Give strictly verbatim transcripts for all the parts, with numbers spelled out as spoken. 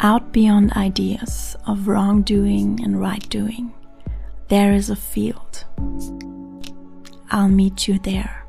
Out beyond ideas of wrongdoing and right doing, there is a field. I'll meet you there.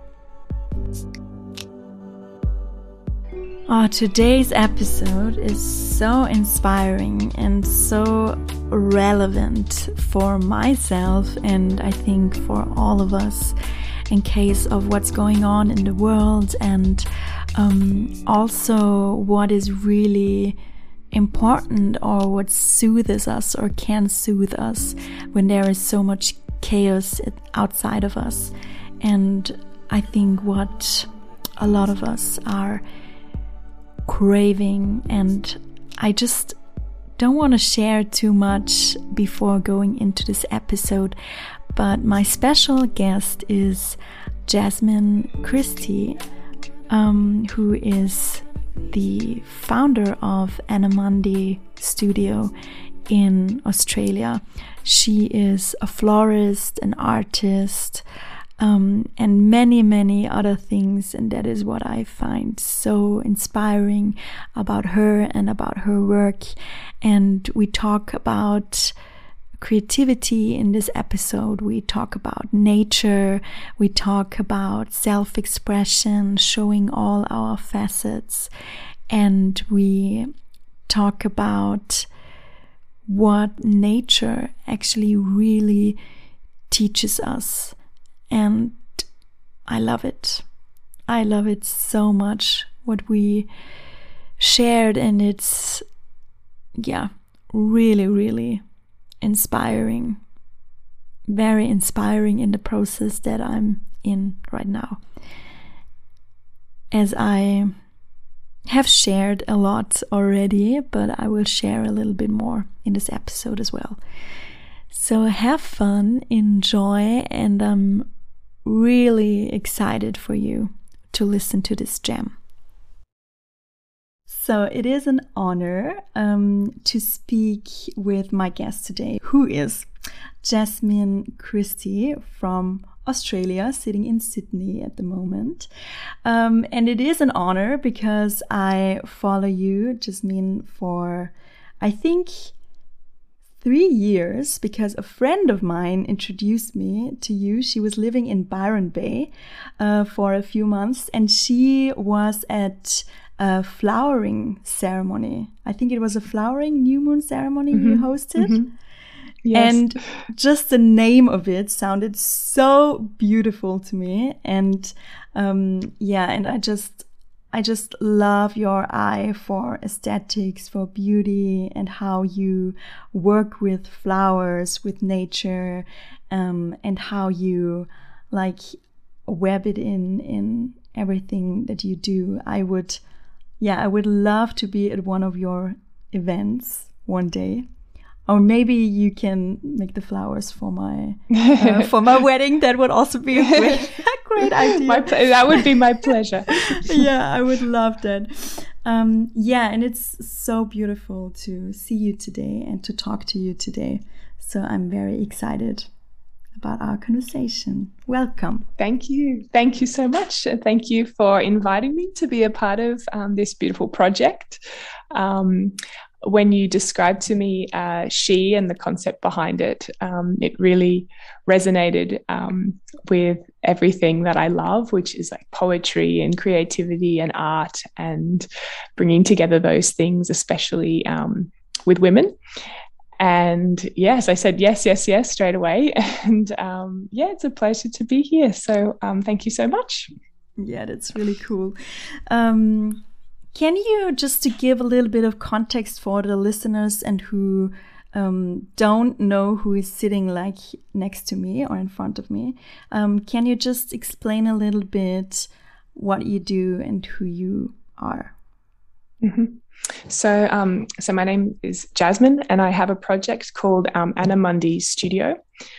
Oh, today's episode is so inspiring and so relevant for myself, and I think for all of us, in case of what's going on in the world, and um, also what is really important, or what soothes us or can soothe us when there is so much chaos outside of us. And I think what a lot of us are craving, and I just don't want to share too much before going into this episode, but my special guest is Jasmine Christie, um, who is the founder of Annamundi Studio in Australia. She is a florist, an artist, um, and many, many other things. And that is what I find so inspiring about her and about her work. And we talk about creativity in this episode. We talk about nature. We talk about self-expression, showing all our facets. And we talk about what nature actually really teaches us. And I love it. I love it so much, what we shared. And it's, yeah, really, really inspiring, very inspiring in the process that I'm in right now. As I have shared a lot already, but I will share a little bit more in this episode as well. So have fun, enjoy, and I'm really excited for you to listen to this gem. So it is an honor um, to speak with my guest today, who is Jasmine Christie from Australia, sitting in Sydney at the moment. Um, and it is an honor because I follow you, Jasmine, for I think three years because a friend of mine introduced me to you. She was living in Byron Bay uh, for a few months, and she was at a flowering ceremony. I think it was a flowering new moon ceremony mm-hmm. you hosted. Mm-hmm. Yes. And just the name of it sounded so beautiful to me. And um, yeah, and I just, I just love your eye for aesthetics, for beauty, and how you work with flowers, with nature, um, and how you like web it in, in everything that you do. I would Yeah, I would love to be at one of your events one day. Or maybe you can make the flowers for my uh, for my wedding. That would also be a great, a great idea. My ple- that would be my pleasure. Yeah, I would love that. Um, yeah, and it's so beautiful to see you today and to talk to you today. So I'm very excited about our conversation. Welcome. Thank you. Thank you so much. Thank you for inviting me to be a part of um, this beautiful project. Um, when you described to me uh, She and the concept behind it, um, it really resonated um, with everything that I love, which is like poetry and creativity and art, and bringing together those things, especially um, with women. And yes, I said yes, yes, yes straight away. And um, yeah, it's a pleasure to be here. So um, thank you so much. Yeah, that's really cool. Um, can you, just to give a little bit of context for the listeners and who um, don't know who is sitting like next to me or in front of me, um, can you just explain a little bit what you do and who you are? Mm-hmm. So, um, so my name is Jasmine, and I have a project called um, Annamundi Studio,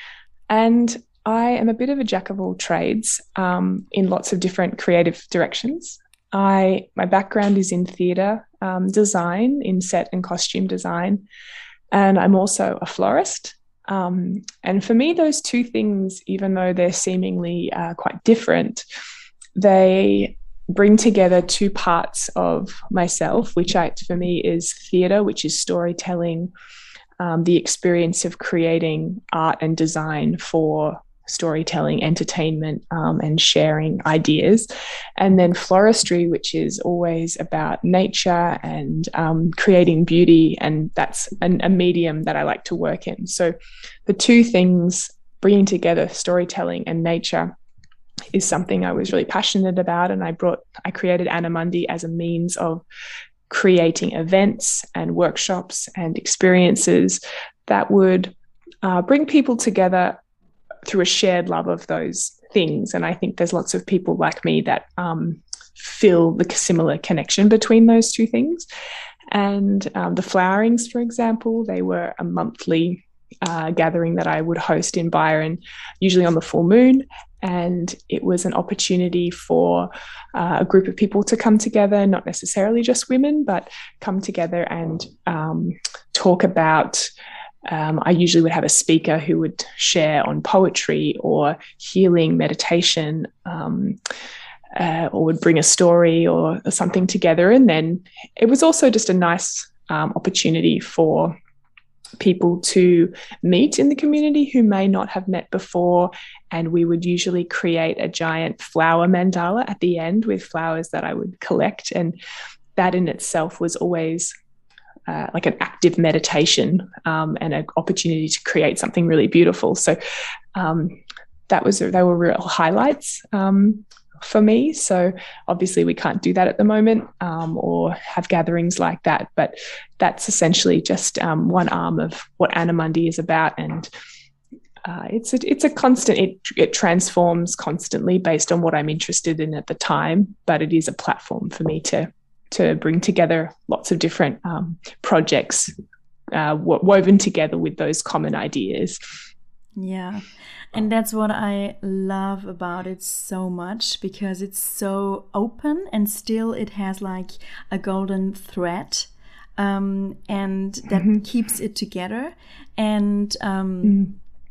and I am a bit of a jack of all trades um, in lots of different creative directions. I my background is in theatre um, design, in set and costume design, and I'm also a florist. Um, and for me, those two things, even though they're seemingly uh, quite different, they bring together two parts of myself, which I, for me is theatre, which is storytelling, um, the experience of creating art and design for storytelling, entertainment, um, and sharing ideas. And then floristry, which is always about nature and um, creating beauty. And that's an, a medium that I like to work in. So the two things, bringing together storytelling and nature, is something I was really passionate about. And I brought, I created Annamundi as a means of creating events and workshops and experiences that would uh, bring people together through a shared love of those things. And I think there's lots of people like me that um, feel the similar connection between those two things. And um, the flowerings, for example, they were a monthly uh, gathering that I would host in Byron, usually on the full moon. And it was an opportunity for uh, a group of people to come together, not necessarily just women, but come together and um, talk about Um, I usually would have a speaker who would share on poetry or healing, meditation, um, uh, or would bring a story or, or something together. And then it was also just a nice um, opportunity for people to meet in the community who may not have met before. And we would usually create a giant flower mandala at the end with flowers that I would collect. And that in itself was always Uh, like an active meditation um, and an opportunity to create something really beautiful. So um, that was they were real highlights um, for me. So obviously we can't do that at the moment um, or have gatherings like that, but that's essentially just um, one arm of what Annamundi is about. And uh, it's a, it's a constant, it, it transforms constantly based on what I'm interested in at the time, but it is a platform for me to to bring together lots of different um, projects uh, woven together with those common ideas. Yeah. And that's what I love about it so much, because it's so open and still it has like a golden thread um, and that mm-hmm. keeps it together. And um, mm.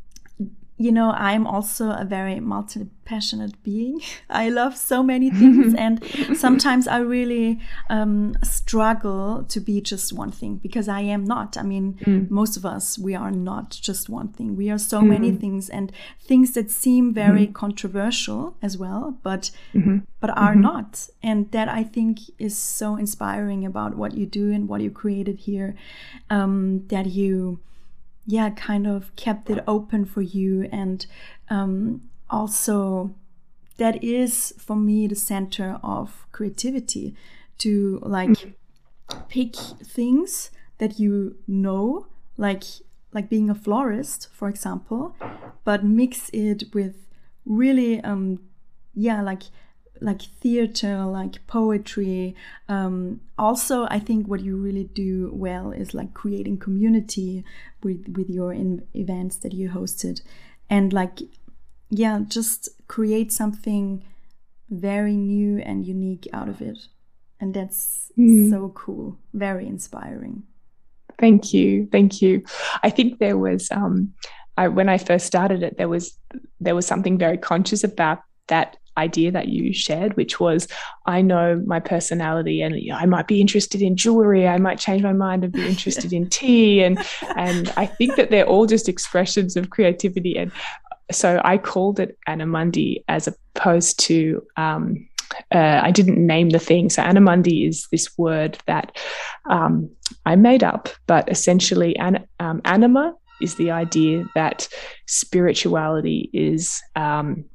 you know, I'm also a very multi-passionate being. I love so many things. And sometimes I really um, struggle to be just one thing, because I am not. I mean, mm. most of us, we are not just one thing. We are so mm. many things, and things that seem very mm. controversial as well, but mm-hmm. but are mm-hmm. not. And that, I think, is so inspiring about what you do and what you created here, um, that you... yeah, kind of kept it open for you. And um, also that is for me the center of creativity, to like mm. pick things that you know, like like being a florist, for example, but mix it with really um yeah like like theater, like poetry. Um, also, I think what you really do well is like creating community with, with your in events that you hosted. And like, yeah, just create something very new and unique out of it. And that's mm. so cool, very inspiring. Thank you. Thank you. I think there was, um, I, when I first started it, there was, there was something very conscious about that idea that you shared, which was, I know my personality and you know, I might be interested in jewelry, I might change my mind and be interested in tea, and and I think that they're all just expressions of creativity. And so I called it Annamundi as opposed to um, uh, I didn't name the thing. So Annamundi is this word that um, I made up, but essentially an, um, anima is the idea that spirituality is um,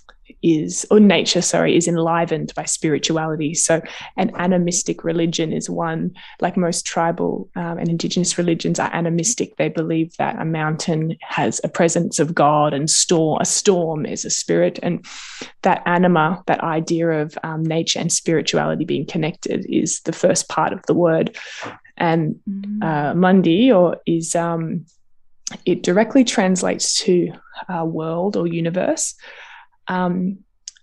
is, or nature, sorry, is enlivened by spirituality. So an animistic religion is one, like most tribal um, and indigenous religions are animistic. They believe that a mountain has a presence of God, and storm, a storm is a spirit. And that anima, that idea of um, nature and spirituality being connected, is the first part of the word. And mm-hmm. uh, mundi, or is, um, it directly translates to uh, world or universe. Um,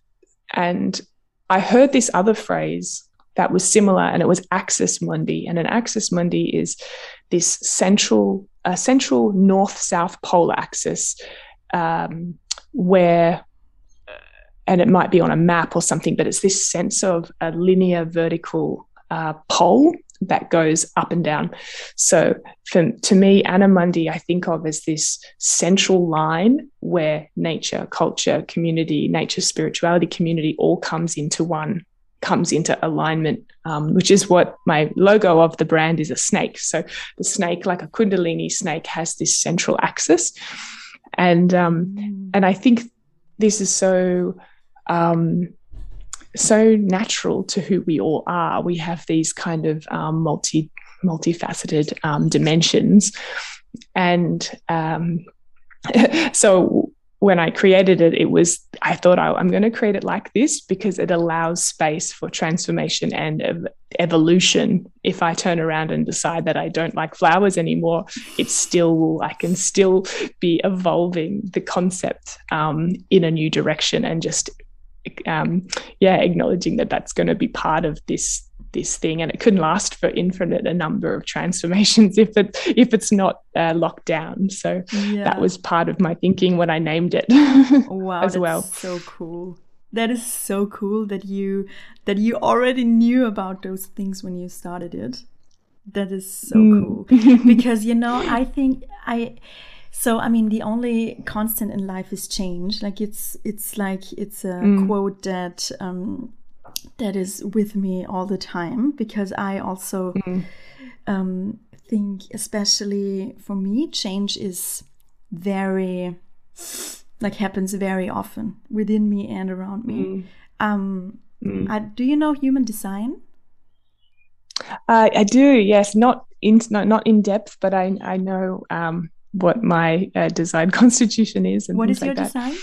and I heard this other phrase that was similar, and it was axis mundi. And an axis mundi is this central, uh, central north-south pole axis, um, where and it might be on a map or something, but it's this sense of a linear vertical uh, pole that goes up and down. So for, to me, Anna Mundi, I think of as this central line where nature, culture, community, nature, spirituality, community all comes into one, comes into alignment, um, which is what my logo of the brand is, a snake. So the snake, like a Kundalini snake, has this central axis. And, um, mm. and I think this is so... Um, so natural to who we all are. We have these kind of um, multi multifaceted um, dimensions, and um, so when I created it, it was I thought I, I'm going to create it like this because it allows space for transformation and ev- evolution. If I turn around and decide that I don't like flowers anymore, it's still I can still be evolving the concept um, in a new direction and just. Um, yeah, acknowledging that that's going to be part of this this thing, and it can last for infinite a number of transformations if it if it's not uh, locked down. So yeah. That was part of my thinking when I named it. Wow, as that's well. So cool. That is so cool that you that you already knew about those things when you started it. That is so mm. cool because you know I think I. So, I mean, the only constant in life is change. Like it's, it's like, it's a mm. quote that, um, that is with me all the time because I also, mm. um, think, especially for me, change is very, like happens very often within me and around me. Mm. Um, mm. I, do you know human design? Uh, I do, yes. Not in, not, not in depth, but I, I know, um, what my uh, design constitution is and what things is your like design?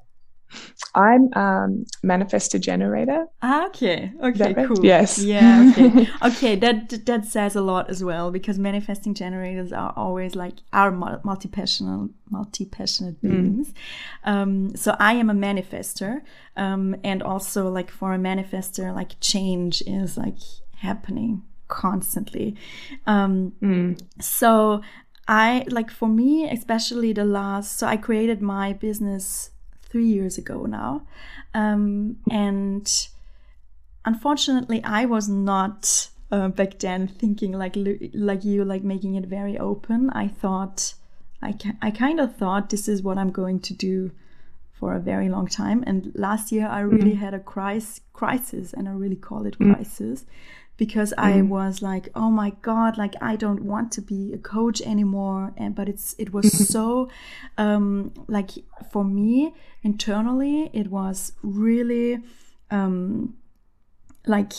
I'm um manifestor generator. Ah, okay. Okay, right? cool. Yes. Yeah, okay. Okay, that that says a lot as well because manifesting generators are always like our multi-passionate multi-passionate beings. Mm. Um so I am a manifester. Um and also like for a manifester, like change is like happening constantly. Um mm. so I like for me, especially the last, so I created my business three years ago now. Um, and unfortunately, I was not uh, back then thinking like like you, like making it very open. I thought, I, ca- I kind of thought this is what I'm going to do for a very long time. And last year, I really mm. had a crisis, crisis, and I really call it mm. crisis. Because mm. I was like, oh my God, like I don't want to be a coach anymore. And but it's it was so um, like for me internally, it was really um, like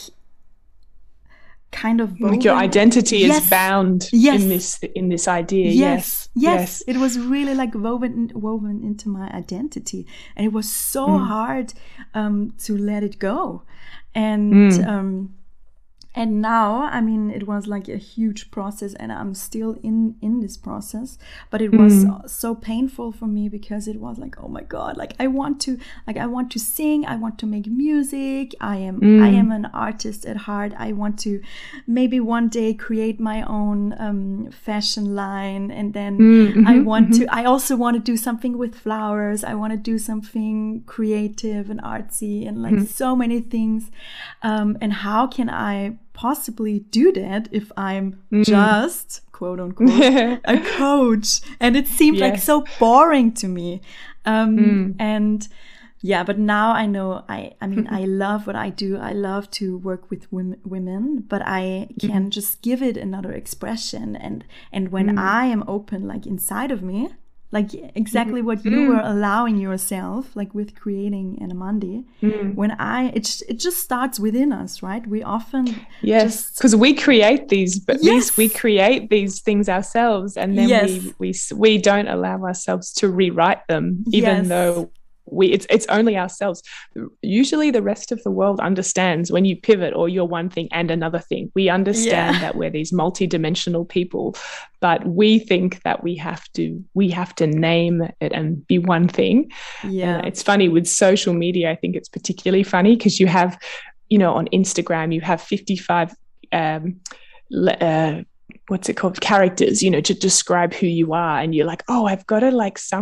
kind of woven. Like your identity yes. is bound yes. in this in this idea. Yes. Yes. yes, yes. It was really like woven woven into my identity, and it was so mm. hard um, to let it go, and. Mm. Um, And now, I mean, it was like a huge process and I'm still in, in this process, but it was mm. so painful for me because it was like, oh my God, like I want to, like I want to sing, I want to make music. I am, mm. I am an artist at heart. I want to maybe one day create my own um, fashion line. And then mm-hmm, I want mm-hmm. to, I also want to do something with flowers. I want to do something creative and artsy and like mm. so many things. Um, and how can I possibly do that if I'm mm. just quote unquote a coach, and it seemed yes. like so boring to me um mm. and yeah but now I know I I mean I love what I do. I love to work with women, women but I can mm. just give it another expression, and and when mm. I am open like inside of me, like exactly what you mm. were allowing yourself, like with creating Anna Mundi. Mm. When I, it it just starts within us, right? We often yes, because we create these, but yes. these we create these things ourselves, and then yes. we we we don't allow ourselves to rewrite them, even yes. though. We it's it's only ourselves. Usually the rest of the world understands when you pivot or you're one thing and another thing. We understand yeah. that we're these multidimensional people, but we think that we have to we have to name it and be one thing. Yeah. And it's funny with social media, I think it's particularly funny because you have, you know, on Instagram you have fifty-five um uh what's it called characters, you know, to describe who you are, and you're like, oh, I've got to like sum up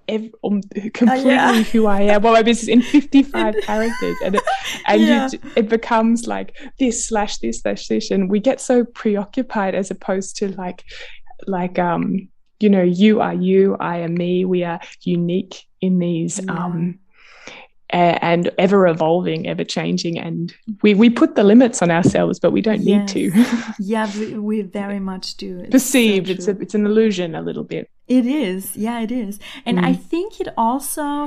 every, um, completely uh, yeah. who I am. Well, my business in fifty-five characters, and it, and yeah. you, it becomes like this slash this slash this, and we get so preoccupied as opposed to like like um you know, you are you, I am me. We are unique in these yeah. um and ever evolving, ever changing, and we we put the limits on ourselves, but we don't yes. need to. yeah, we, we very much do. It's perceived. So it's a, it's an illusion a little bit. It is, yeah, it is, and mm. I think it also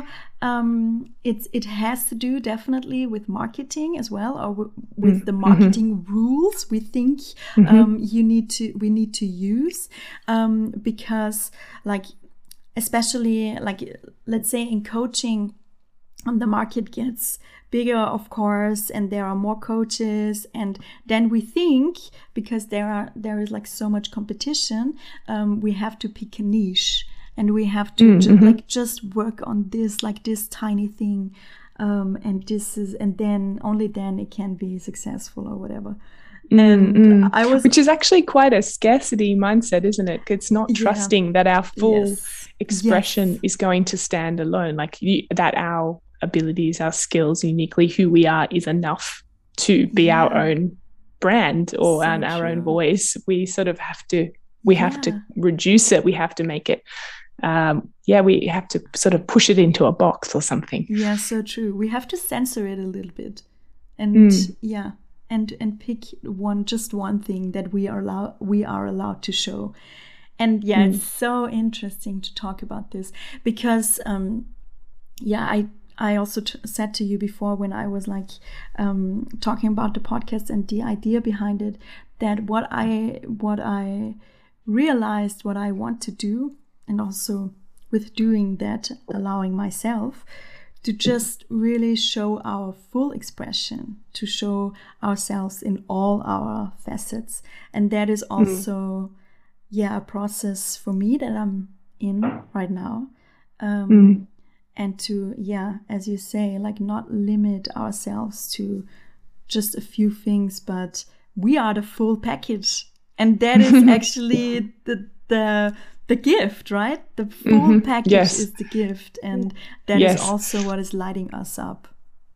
um, it's it has to do definitely with marketing as well, or w- with mm. the marketing mm-hmm. rules we think mm-hmm. um, you need to we need to use um, because, like, especially like let's say in coaching. Um, the market gets bigger, of course, and there are more coaches, and then we think because there are there is like so much competition, um, we have to pick a niche, and we have to mm-hmm. ju- like just work on this like this tiny thing, um, and this is and then only then it can be successful or whatever. And mm-hmm. I was, which is actually quite a scarcity mindset, isn't it? It's not trusting yeah. that our full yes. expression yes. is going to stand alone, like you, that our abilities, our skills, uniquely who we are is enough to be yeah. our own brand or so our true. own voice. We sort of have to, we yeah. have to reduce it. We have to make it, um, yeah, we have to sort of push it into a box or something. Yeah, so true. We have to censor it a little bit, and mm. yeah, and and pick one, just one thing that we are allowed we are allowed to show. And yeah, mm. it's so interesting to talk about this because, um, yeah, I. I also t- said to you before when I was like um, talking about the podcast and the idea behind it, that what I what I realized what I want to do, and also with doing that, allowing myself to just really show our full expression, to show ourselves in all our facets. And that is also, mm. yeah, a process for me that I'm in right now. Um, mm. And to, yeah, as you say, like not limit ourselves to just a few things, but we are the full package. And that is actually the the the gift, right? The full mm-hmm. package yes. is the gift. And that yes. is also what is lighting us up.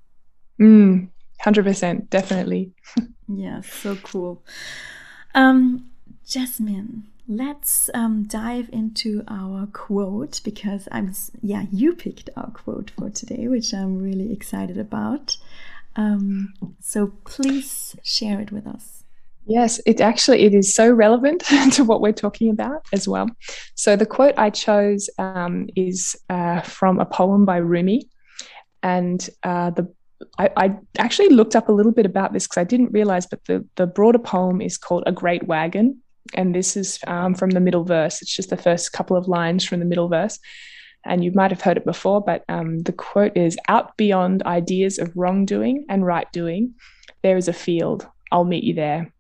Mm, one hundred percent, definitely. Yeah, so cool. Um, Jasmine, let's um, dive into our quote, because I'm yeah you picked our quote for today, which I'm really excited about. Um, so please share it with us. Yes, it actually it is so relevant to what we're talking about as well. So the quote I chose um, is uh, from a poem by Rumi, and uh, the I, I actually looked up a little bit about this because I didn't realize, but the the broader poem is called A Great Wagon. And this is um, from the middle verse. It's just the first couple of lines from the middle verse. And you might have heard it before, but um, the quote is, "Out beyond ideas of wrongdoing and right doing, there is a field. I'll meet you there."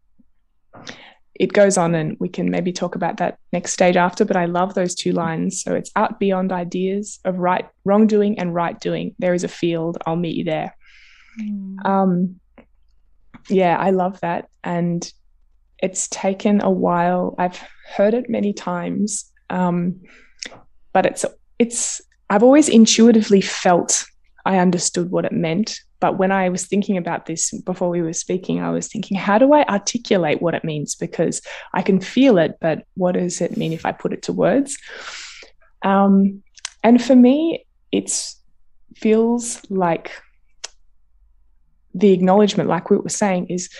It goes on, and we can maybe talk about that next stage after, but I love those two lines. So it's out beyond ideas of right wrongdoing and right doing. There is a field. I'll meet you there. Mm. Um, yeah, I love that. And it's taken a while. I've heard it many times, um, but it's it's. I've always intuitively felt I understood what it meant. But when I was thinking about this before we were speaking, I was thinking, how do I articulate what it means? Because I can feel it, but what does it mean if I put it to words? Um, and for me, it feels like the acknowledgement, like we were saying, is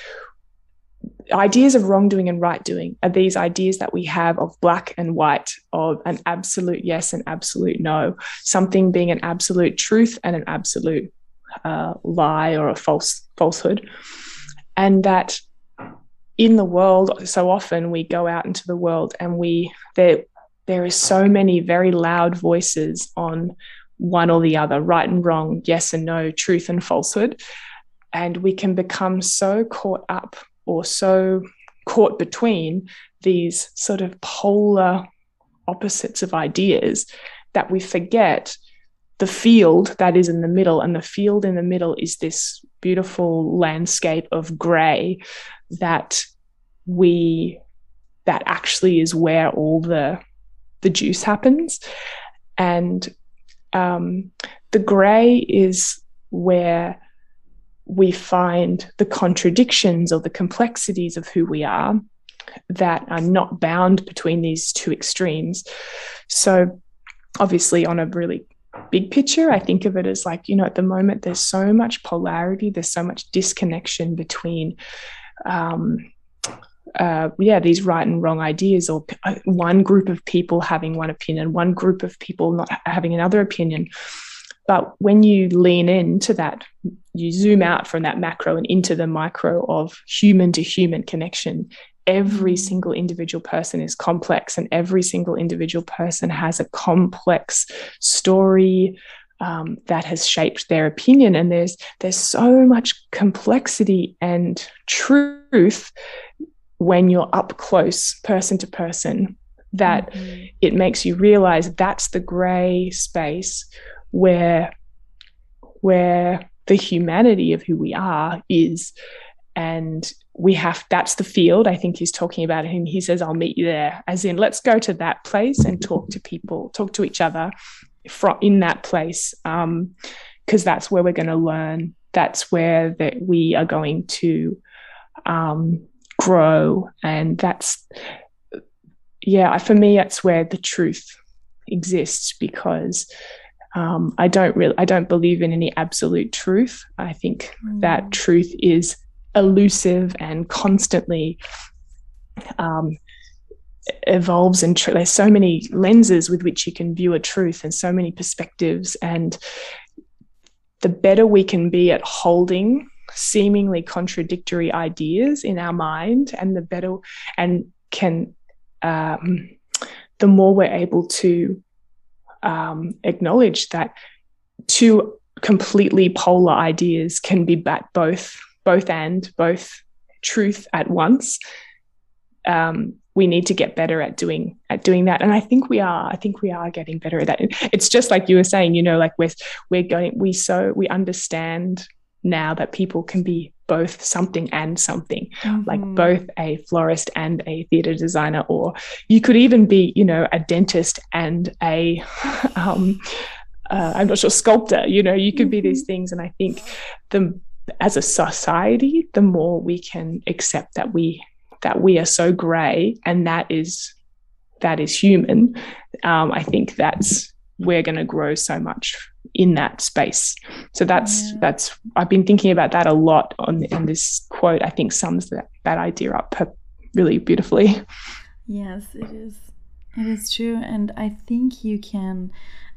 ideas of wrongdoing and right doing are these ideas that we have of black and white, of an absolute yes and absolute no, something being an absolute truth and an absolute uh, lie or a false falsehood. And that in the world, so often we go out into the world and we there there is so many very loud voices on one or the other, right and wrong, yes and no, truth and falsehood. And we can become so caught up or so caught between these sort of polar opposites of ideas that we forget the field that is in the middle. And the field in the middle is this beautiful landscape of grey that we that actually is where all the the juice happens. And um, the grey is where we find the contradictions or the complexities of who we are that are not bound between these two extremes. So obviously on a really big picture, I think of it as like, you know, at the moment there's so much polarity, there's so much disconnection between um, uh, yeah, these right and wrong ideas, or one group of people having one opinion, one group of people not having another opinion. But when you lean into that, you zoom out from that macro and into the micro of human to human connection, every single individual person is complex, and every single individual person has a complex story um, that has shaped their opinion. And there's there's so much complexity and truth when you're up close, person to person, that mm-hmm. it makes you realize that's the gray space where where the humanity of who we are is. And we have, that's the field I think he's talking about. Him, he says, I'll meet you there, as in, let's go to that place and talk to people, talk to each other from in that place, um, because that's where we're going to learn. That's where that we are going to um, grow. And that's, yeah, for me, that's where the truth exists, because um, I don't really, I don't believe in any absolute truth. I think mm. that truth is elusive and constantly um, evolves, and tr- there's so many lenses with which you can view a truth, and so many perspectives. And the better we can be at holding seemingly contradictory ideas in our mind, and the better and can um, the more we're able to um, acknowledge that two completely polar ideas can be at both both and both truth at once. Um, we need to get better at doing at doing that, and I think we are. I think we are getting better at that. It's just like you were saying, you know, like we're we're going. We so we understand now that people can be both something and something, mm-hmm. like both a florist and a theatre designer, or you could even be, you know, a dentist and a um, uh, I'm not sure, sculptor. You know, you could mm-hmm. be these things, and I think the as a society, the more we can accept that we that we are so grey, and that is that is human, um, I think that's we're going to grow so much in that space. So that's yeah. that's I've been thinking about that a lot on, on this quote. I think sums that that idea up really beautifully. Yes, it is. It is true, and I think you can.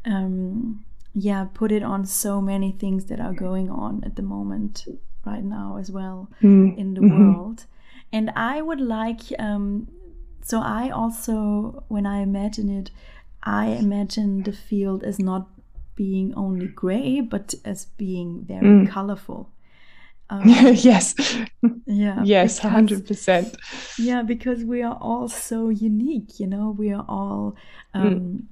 Um, yeah, put it on so many things that are going on at the moment right now as well mm. in the mm-hmm. world. And I would like, um, so I also, when I imagine it, I imagine the field as not being only gray, but as being very mm. colorful. Um, yes. Yeah. Yes, because, one hundred percent. Yeah, because we are all so unique, you know, we are all um, mm.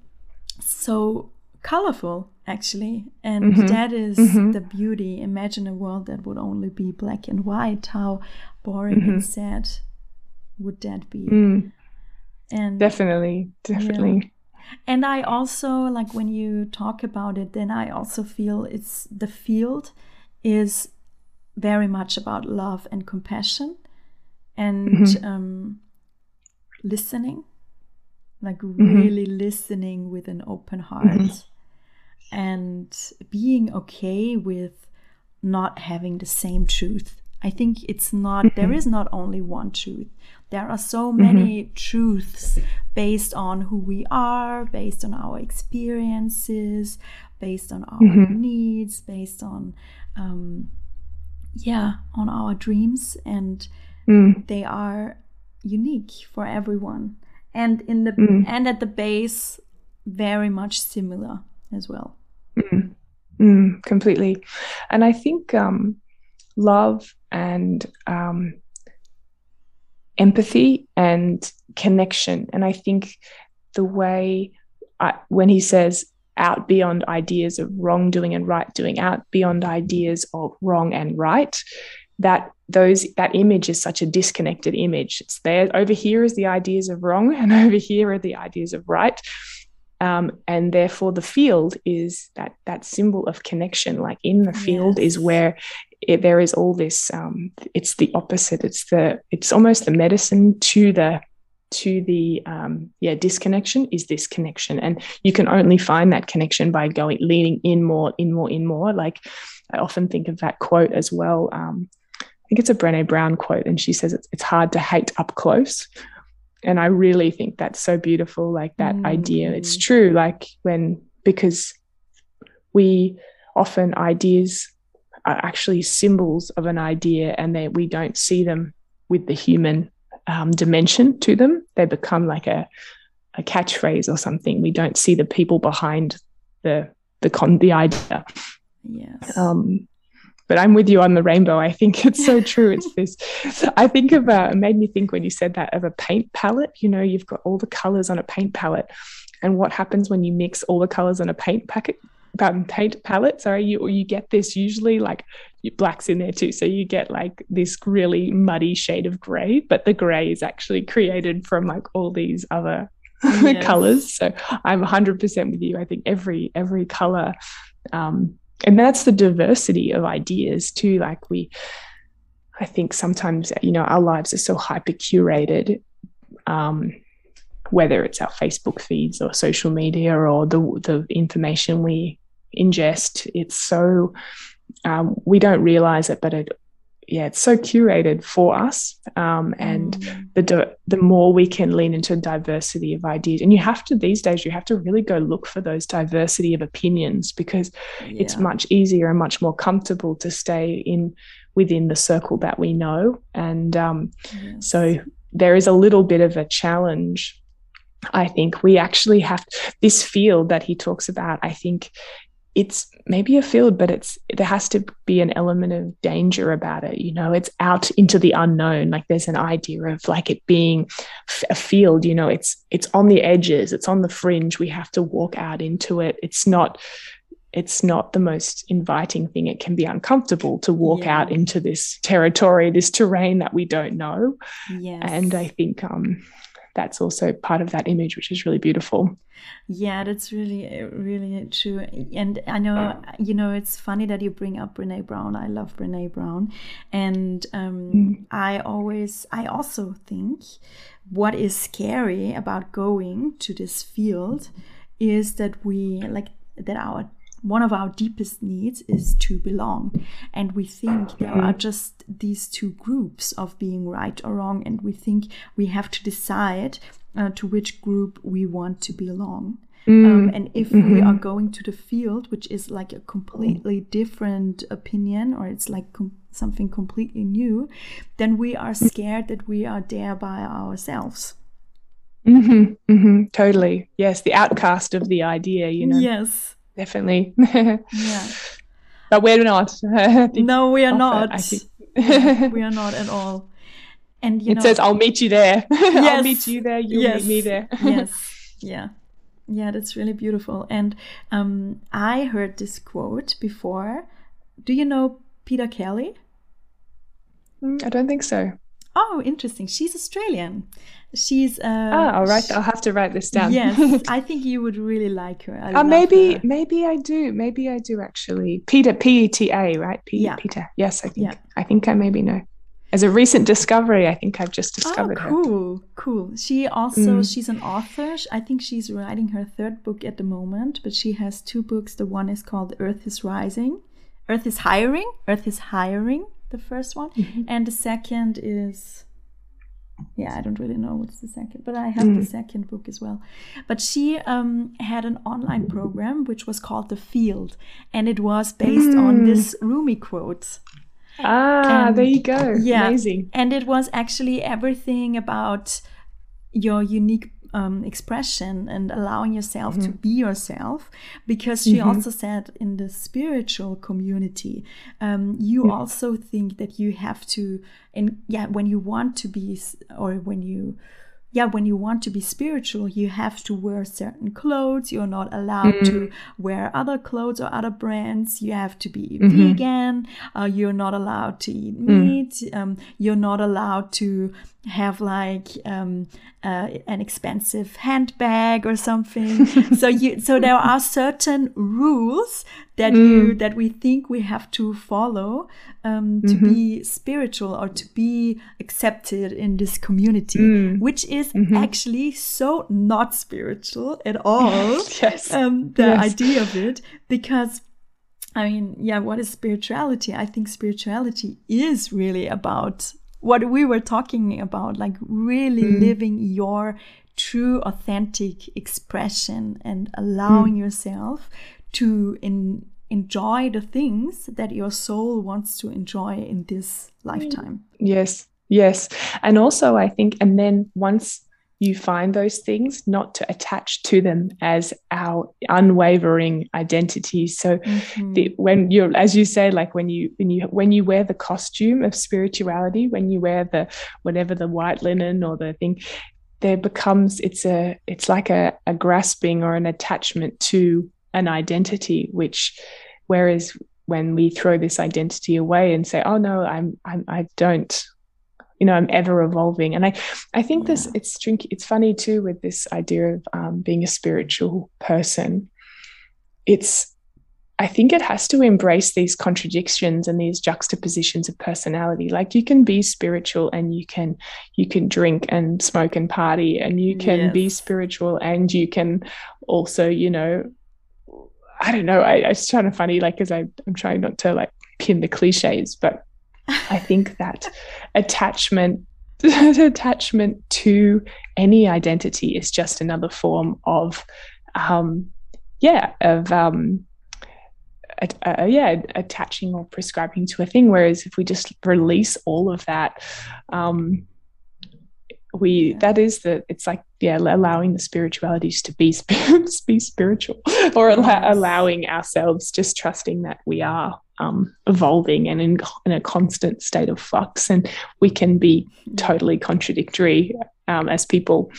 so colorful, actually, and mm-hmm. that is mm-hmm. the beauty. Imagine a world that would only be black and white. How boring mm-hmm. and sad would that be? Mm. And definitely definitely yeah. And I also, like, when you talk about it, then I also feel it's the field is very much about love and compassion and mm-hmm. um, listening, like mm-hmm. really listening with an open heart. Mm-hmm. And being okay with not having the same truth. I think it's not, mm-hmm. there is not only one truth. There are so many mm-hmm. truths based on who we are, based on our experiences, based on our mm-hmm. needs, based on, um, yeah, on our dreams. And mm. they are unique for everyone. And in the mm. and at the base, very much similar as well. Mm, mm, completely. And I think um, love and um, empathy and connection. And I think the way I, when he says out beyond ideas of wrongdoing and right doing, out beyond ideas of wrong and right, that those that image is such a disconnected image. It's there. Over here is the ideas of wrong, and over here are the ideas of right. Um, and therefore the field is that that symbol of connection. Like in the field yes. is where it, there is all this, um, it's the opposite. It's the, it's almost the medicine to the, to the, um, yeah, disconnection is this connection. And you can only find that connection by going, leaning in more, in more, in more. Like I often think of that quote as well. Um, I think it's a Brené Brown quote, and she says it's, it's hard to hate up close. And I really think that's so beautiful, like that mm. idea. It's true, like when, because we often, ideas are actually symbols of an idea, and they, we don't see them with the human um, dimension to them. They become like a, a catchphrase or something. We don't see the people behind the the con the idea. Yes. Um, But I'm with you on the rainbow. I think it's so true. It's this, I think of, uh, it made me think when you said that of a paint palette. You know, you've got all the colors on a paint palette. And what happens when you mix all the colors on a paint packet, um, paint palette, sorry, you, you get this usually like black's in there too. So you get like this really muddy shade of gray, but the gray is actually created from like all these other yes. colors. So I'm one hundred percent with you. I think every, every color, um, and that's the diversity of ideas too. Like we, I think sometimes, you know, our lives are so hyper curated, um, whether it's our Facebook feeds or social media or the the information we ingest. It's so, um, we don't realize it, but it, yeah, it's so curated for us. Um, and mm. the the more we can lean into diversity of ideas, and you have to, these days, you have to really go look for those diversity of opinions, because yeah. it's much easier and much more comfortable to stay in within the circle that we know. And um, yes. so there is a little bit of a challenge. I think we actually have this field that he talks about. I think it's maybe a field, but it's, there has to be an element of danger about it. You know, it's out into the unknown. Like there's an idea of like it being a field, you know, it's, it's on the edges, it's on the fringe. We have to walk out into it. It's not, it's not the most inviting thing. It can be uncomfortable to walk yeah. out into this territory, this terrain that we don't know. Yes. And I think, um, that's also part of that image, which is really beautiful. Yeah, that's really, really true. And I know, you know, it's funny that you bring up Brené Brown. I love Brené Brown. And um, mm. I always, I also think what is scary about going to this field is that we, like, that our one of our deepest needs is to belong. And we think there are just these two groups of being right or wrong. And we think we have to decide uh, to which group we want to belong. Mm. Um, and if mm-hmm. we are going to the field, which is like a completely different opinion, or it's like com- something completely new, then we are scared that we are there by ourselves. Mm-hmm. Mm-hmm. Totally. Yes. The outcast of the idea, you know. Yes. Definitely. Yeah. But we're not. No, we are not. Yeah, we are not at all. And you it know, says, I'll meet you there. Yes. I'll meet you there. You'll yes. meet me there. Yes. Yeah. Yeah, that's really beautiful. And um, I heard this quote before. Do you know Peter Kelly? Mm, I don't think so. Oh, interesting. She's Australian. She's uh ah, all right. I'll have to write this down. Yes, I think you would really like her. I uh, maybe, her. maybe I do. Maybe I do actually. Peter, P E T A, right? P- yeah. Peter. Yes, I think. Yeah. I think I maybe know. As a recent discovery, I think I've just discovered oh, her. Cool, cool. She also, Mm. she's an author. I think she's writing her third book at the moment, but she has two books. The one is called Earth is Rising, Earth is Hiring, Earth is Hiring, the first one. Mm-hmm. And the second is, yeah, I don't really know what's the second, but I have mm. the second book as well. But she um, had an online program which was called The Field, and it was based mm. on this Rumi quote. Ah, and, there you go. Yeah, amazing. And it was actually everything about your unique um, expression and allowing yourself mm-hmm. to be yourself, because she mm-hmm. also said in the spiritual community, um, you mm-hmm. also think that you have to, and yeah, when you want to be, or when you yeah, when you want to be spiritual, you have to wear certain clothes. You're not allowed mm. to wear other clothes or other brands. You have to be mm-hmm. vegan. Uh, you're not allowed to eat meat. Mm. Um, you're not allowed to have like um, uh, an expensive handbag or something. so you, so there are certain rules that mm. you that we think we have to follow um, to mm-hmm. be spiritual or to be accepted in this community, mm. which is mm-hmm. actually so not spiritual at all. yes, um, the yes. idea of it, because I mean, yeah, what is spirituality? I think spirituality is really about what we were talking about, like really mm. living your true, authentic expression and allowing mm. yourself to in, enjoy the things that your soul wants to enjoy in this lifetime. Yes, yes. And also I think, and then once you find those things, not to attach to them as our unwavering identity. So mm-hmm. the, when you're, as you say, like when you when you when you wear the costume of spirituality, when you wear the whatever the white linen or the thing, there becomes it's a it's like a, a grasping or an attachment to an identity, which whereas when we throw this identity away and say, oh no, I'm I'm I don't. You know, I'm ever evolving. And I, I think yeah. this, it's tricky. It's funny too with this idea of um, being a spiritual person. It's, I think it has to embrace these contradictions and these juxtapositions of personality. Like you can be spiritual and you can, you can drink and smoke and party, and you can yes. be spiritual and you can also, you know, I don't know. I, it's kind of funny, like, because I'm trying not to like pin the cliches, but I think that attachment attachment to any identity is just another form of um yeah of um a, a, yeah attaching or prescribing to a thing, whereas if we just release all of that, um we yeah. that is the it's like yeah allowing the spiritualities to be be spiritual, or yes. allow, allowing ourselves, just trusting that we are um evolving and in, in a constant state of flux, and we can be yeah. totally contradictory um as people.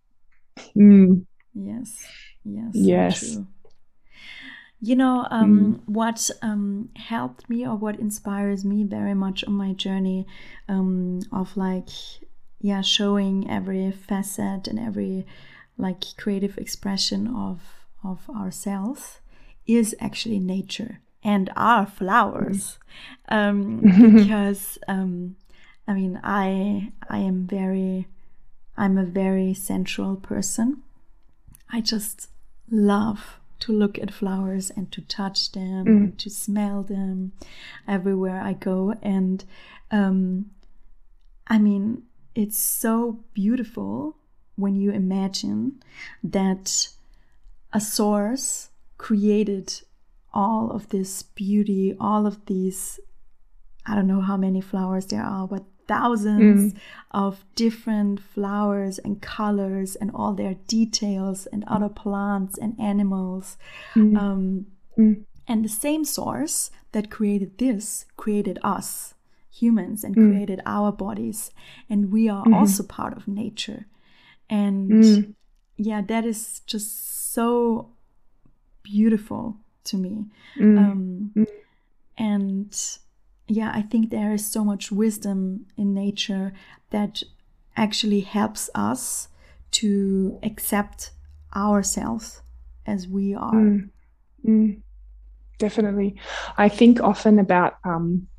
mm. yes yes yes so true. You know, um, mm. what um, helped me, or what inspires me very much on my journey um, of like yeah showing every facet and every like creative expression of of ourselves is actually nature and our flowers. um because um I mean I I am very I'm a very sensual person. I just love to look at flowers and to touch them mm. and to smell them everywhere I go. And um I mean, it's so beautiful when you imagine that a source created all of this beauty, all of these, I don't know how many flowers there are, but thousands mm. of different flowers and colors and all their details and other plants and animals. Mm. Um, mm. And the same source that created this created us humans and mm. created our bodies, and we are mm-hmm. also part of nature. And mm. yeah, that is just so beautiful to me. Mm. Um, mm. And yeah, I think there is so much wisdom in nature that actually helps us to accept ourselves as we are. Mm. Mm. Definitely. I think often about um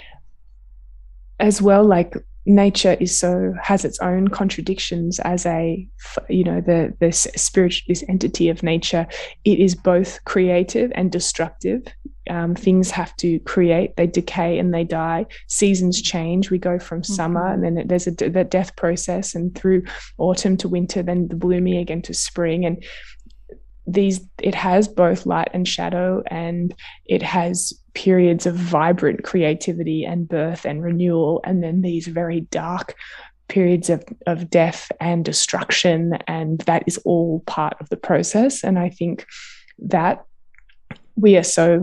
as well, like nature is so has its own contradictions as a, you know, the this spirit, this entity of nature. It is both creative and destructive. Um, things have to create, they decay and they die. Seasons change. We go from mm-hmm. summer, and then there's a the death process, and through autumn to winter, then the blooming again to spring. And these, it has both light and shadow, and it has periods of vibrant creativity and birth and renewal, and then these very dark periods of, of death and destruction, and that is all part of the process. And I think that we are so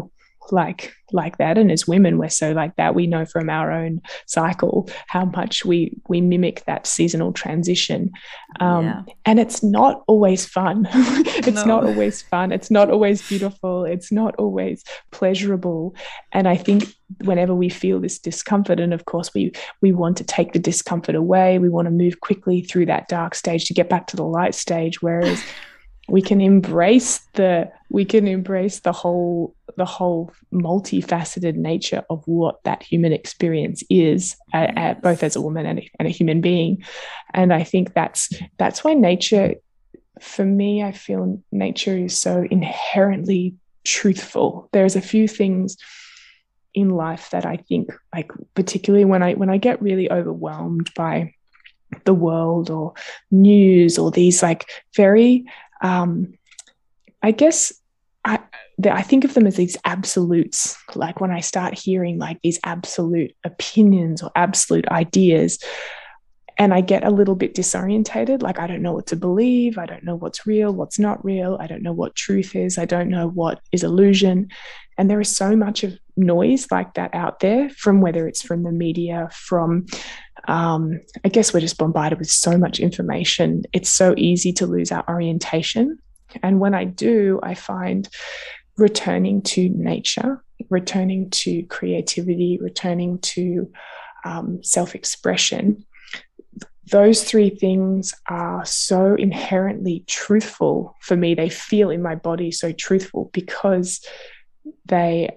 like like that, and as women we're so like that. We know from our own cycle how much we we mimic that seasonal transition, um, Yeah. and it's not always fun. It's No. not always fun. It's not always beautiful. It's not always pleasurable. And I think whenever we feel this discomfort, and of course we we want to take the discomfort away, we want to move quickly through that dark stage to get back to the light stage, whereas we can embrace the we can embrace the whole the whole multifaceted nature of what that human experience is, uh, uh, both as a woman and a, and a human being. And I think that's that's why nature, for me, I feel nature is so inherently truthful. There's a few things in life that I think, like particularly when I when I get really overwhelmed by the world or news or these like very um I guess I I think of them as these absolutes. Like when I start hearing like these absolute opinions or absolute ideas, and I get a little bit disorientated, like I don't know what to believe, I don't know what's real, what's not real, I don't know what truth is, I don't know what is illusion. And there is so much of noise like that out there, from whether it's from the media, from um, I guess we're just bombarded with so much information. It's so easy to lose our orientation. And when I do, I find returning to nature, returning to creativity, returning to um, self-expression, those three things are so inherently truthful for me. They feel in my body so truthful because they,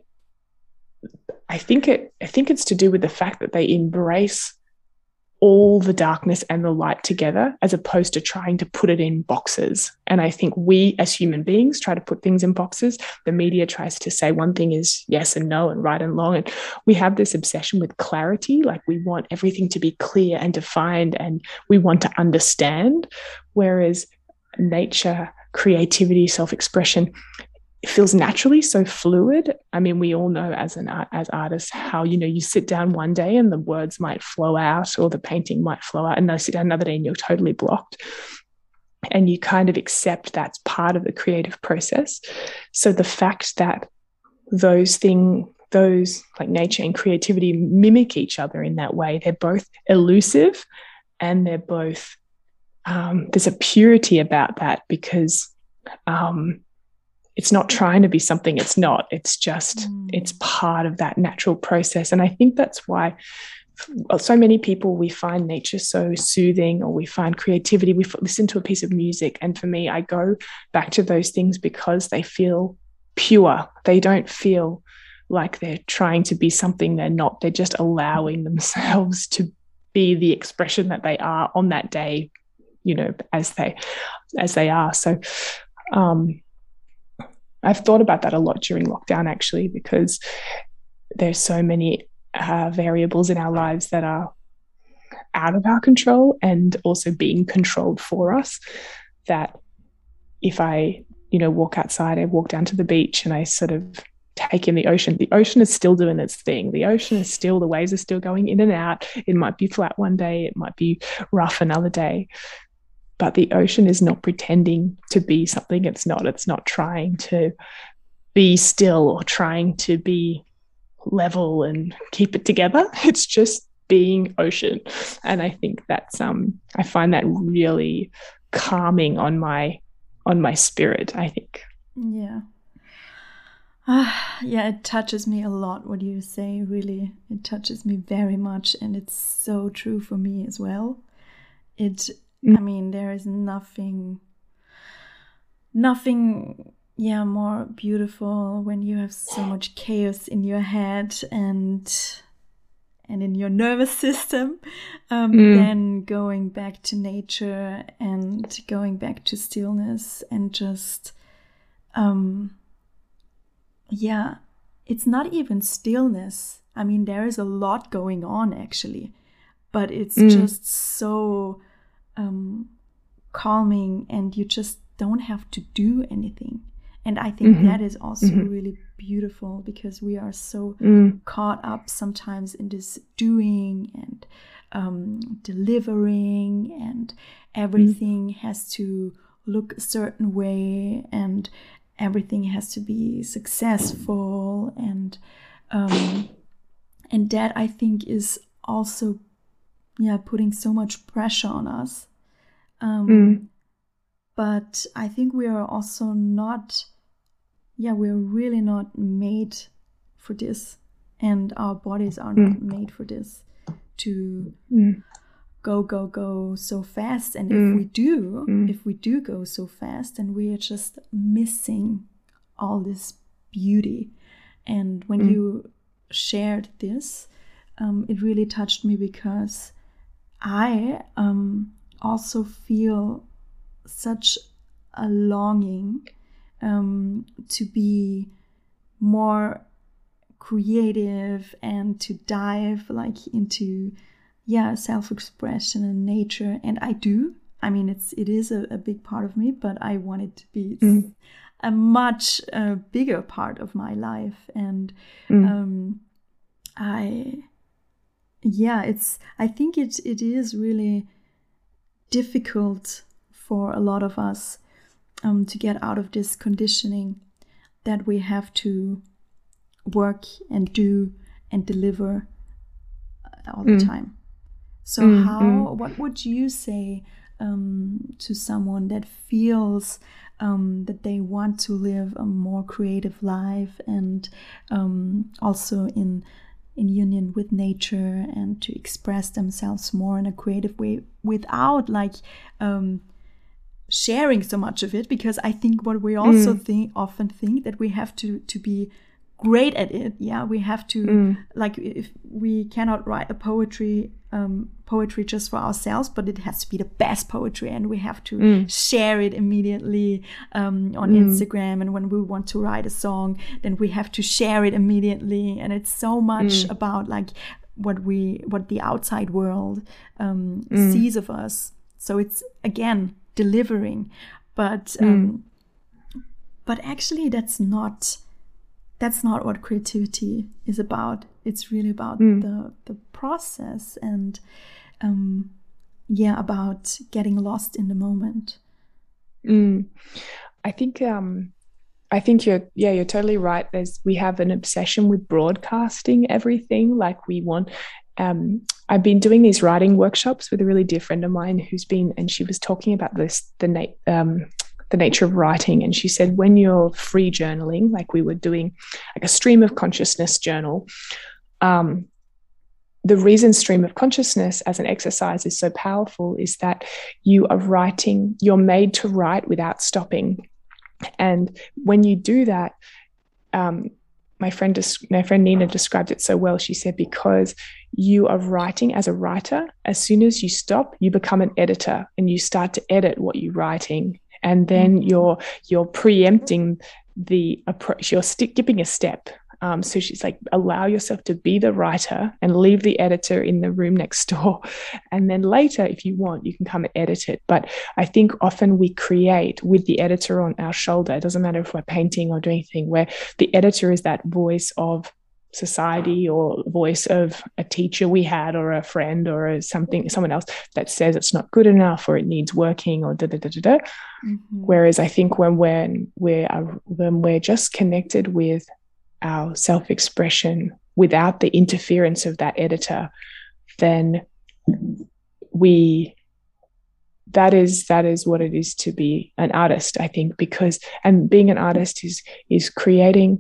I think it, I think it's to do with the fact that they embrace all the darkness and the light together, as opposed to trying to put it in boxes. And I think we as human beings try to put things in boxes. The media tries to say one thing is yes and no and right and wrong. And we have this obsession with clarity. Like we want everything to be clear and defined, and we want to understand. Whereas nature, creativity, self-expression, it feels naturally so fluid. I mean, we all know as an art, as artists, how, you know, you sit down one day and the words might flow out, or the painting might flow out, and then sit down another day and you're totally blocked. And you kind of accept that's part of the creative process. So the fact that those things, those like nature and creativity mimic each other in that way, they're both elusive, and they're both, um, there's a purity about that, because um, it's not trying to be something it's not. It's just, mm. it's part of that natural process. And I think that's why so many people, we find nature so soothing, or we find creativity. We listen to a piece of music. And for me, I go back to those things because they feel pure. They don't feel like they're trying to be something they're not. They're just allowing themselves to be the expression that they are on that day, you know, as they, as they are. So, um, I've thought about that a lot during lockdown, actually, because there's so many uh, variables in our lives that are out of our control and also being controlled for us, that if I, you know, walk outside, I walk down to the beach and I sort of take in the ocean, the ocean is still doing its thing. The ocean is still, the waves are still going in and out. It might be flat one day, it might be rough another day. But the ocean is not pretending to be something it's not. It's not trying to be still or trying to be level and keep it together. It's just being ocean. And I think that's, um, I find that really calming on my, on my spirit, I think. Yeah. Uh, yeah, it touches me a lot what you say, really. It touches me very much, and it's so true for me as well. It I mean, there is nothing, nothing, yeah, more beautiful when you have so much chaos in your head and and in your nervous system, um, mm. than going back to nature and going back to stillness and just, um, yeah, it's not even stillness. I mean, there is a lot going on actually, but it's mm. just so Um, calming, and you just don't have to do anything. And I think mm-hmm. that is also mm-hmm. really beautiful, because we are so mm. caught up sometimes in this doing and um, delivering, and everything mm. has to look a certain way, and everything has to be successful, and um, and that, I think, is also yeah putting so much pressure on us. Um, mm. But I think we are also not, yeah, we're really not made for this, and our bodies are not mm. made for this, to mm. go, go, go so fast. And mm. if we do, mm. if we do go so fast, then we are just missing all this beauty. And when mm. you shared this, um, it really touched me, because I um, also feel such a longing um, to be more creative and to dive like into yeah self-expression and nature. And I do. I mean, it's it is a, a big part of me, but I want it to be mm. a much uh, bigger part of my life. And mm. um, I yeah, it's I think it it is really difficult for a lot of us um, to get out of this conditioning that we have to work and do and deliver all the mm. time. So mm. how, mm. what would you say um, to someone that feels um, that they want to live a more creative life, and um, also in in union with nature, and to express themselves more in a creative way without like um, sharing so much of it? Because I think what we also mm. think often think that we have to to be great at it. Yeah, we have to mm. like, if we cannot write a poetry um, poetry just for ourselves, but it has to be the best poetry, and we have to mm. share it immediately um, on mm. Instagram. And when we want to write a song, then we have to share it immediately. And it's so much mm. about like what we what the outside world um, mm. sees of us. So it's again delivering, but um, mm. but actually that's not that's not what creativity is about. It's really about mm. the the process, and um, yeah, about getting lost in the moment. Mm. I think um, I think you're yeah you're totally right. There's we have an obsession with broadcasting everything. Like we want. Um, I've been doing these writing workshops with a really dear friend of mine who's been, and she was talking about this the na- um, the nature of writing, and she said when you're free journaling, like we were doing like a stream of consciousness journal. Um, the reason stream of consciousness as an exercise is so powerful is that you are writing, you're made to write without stopping. And when you do that, um, my friend, my friend Nina described it so well. She said, because you are writing as a writer, as soon as you stop, you become an editor and you start to edit what you're writing. And then mm-hmm. you're you're preempting the approach, you're skipping a step. Um, so she's like, allow yourself to be the writer and leave the editor in the room next door. And then later, if you want, you can come and edit it. But I think often we create with the editor on our shoulder. It doesn't matter if we're painting or doing anything, where the editor is that voice of society or voice of a teacher we had or a friend or a something, someone else that says it's not good enough or it needs working or da da da da da. Mm-hmm. Whereas I think when we're, we're, when we're just connected with our self-expression without the interference of that editor, then we that is that is what it is to be an artist, I think, because and being an artist is is creating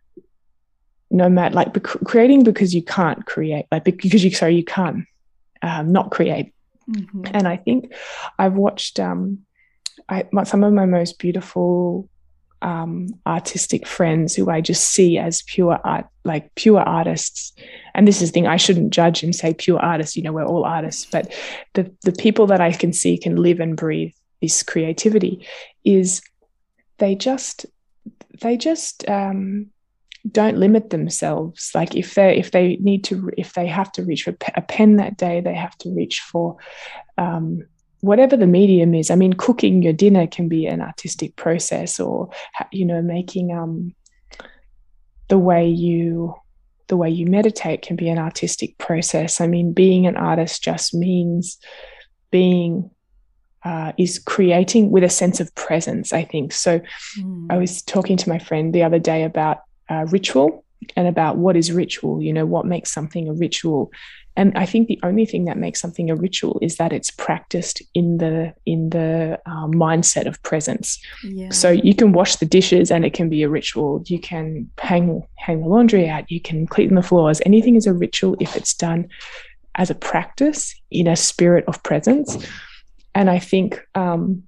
no matter like creating because you can't create like because you sorry you can't um, not create. Mm-hmm. And I think I've watched um I some of my most beautiful Um, artistic friends who I just see as pure art, like pure artists. And this is the thing, I shouldn't judge and say pure artists, you know, we're all artists, but the, the people that I can see can live and breathe this creativity is they just, they just um, don't limit themselves. Like if they, if they need to, if they have to reach for a pen that day, they have to reach for um, whatever the medium is. I mean, cooking your dinner can be an artistic process, or, you know, making um, the way you the way you meditate can be an artistic process. I mean, being an artist just means being uh, is creating with a sense of presence, I think. So mm. I was talking to my friend the other day about uh, ritual and about what is ritual, you know, what makes something a ritual. And I think the only thing that makes something a ritual is that it's practiced in the in the um, mindset of presence. Yeah. So you can wash the dishes and it can be a ritual. You can hang hang the laundry out. You can clean the floors. Anything is a ritual if it's done as a practice in a spirit of presence. And I think um,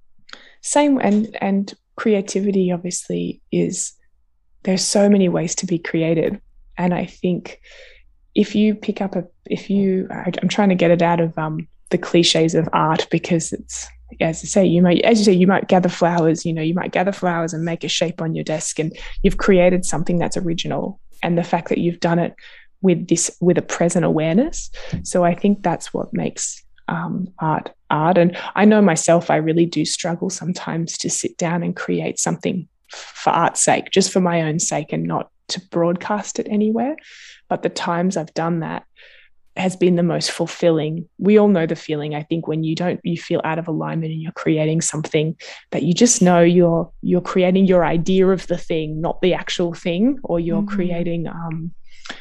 same and and creativity obviously is, there's so many ways to be creative. And I think if you pick up a, if you, I'm trying to get it out of um, the cliches of art, because it's, as I say, you might, as you say, you might gather flowers, you know, you might gather flowers and make a shape on your desk, and you've created something that's original. And the fact that you've done it with this, with a present awareness. So I think that's what makes um, art, art. And I know myself, I really do struggle sometimes to sit down and create something for art's sake, just for my own sake, and not to broadcast it anywhere. But the times I've done that has been the most fulfilling. We all know the feeling, I think, when you don't, you feel out of alignment and you're creating something that you just know you're you're creating your idea of the thing, not the actual thing, or you're mm-hmm. creating, um,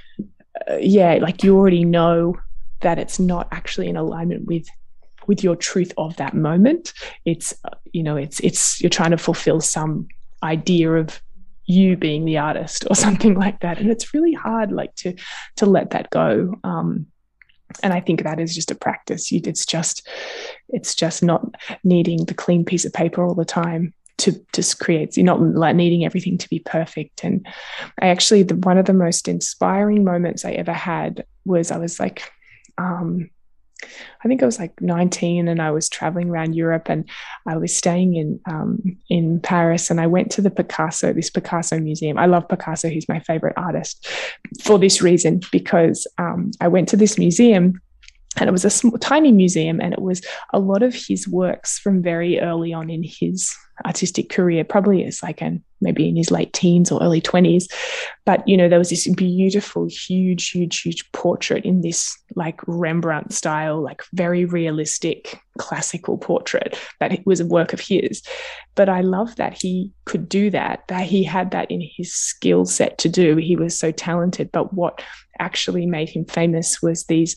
uh, yeah, like you already know that it's not actually in alignment with with your truth of that moment. It's, uh, you know, it's it's you're trying to fulfill some idea of you being the artist or something like that, and it's really hard like to to let that go. Um and I think that is just a practice. You, it's just it's just not needing the clean piece of paper all the time to just create. You're not like needing everything to be perfect. And I actually, the one of the most inspiring moments I ever had was I was like um I think I was like nineteen, and I was traveling around Europe, and I was staying in um, in Paris, and I went to the Picasso, this Picasso museum. I love Picasso. He's my favorite artist for this reason, because um, I went to this museum, and it was a small, tiny museum, and it was a lot of his works from very early on in his artistic career, probably as like an maybe in his late teens or early twenties. But, you know, there was this beautiful, huge, huge, huge portrait in this like Rembrandt style, like very realistic classical portrait that it was a work of his. But I love that he could do that, that he had that in his skill set to do. He was so talented. But what actually made him famous was these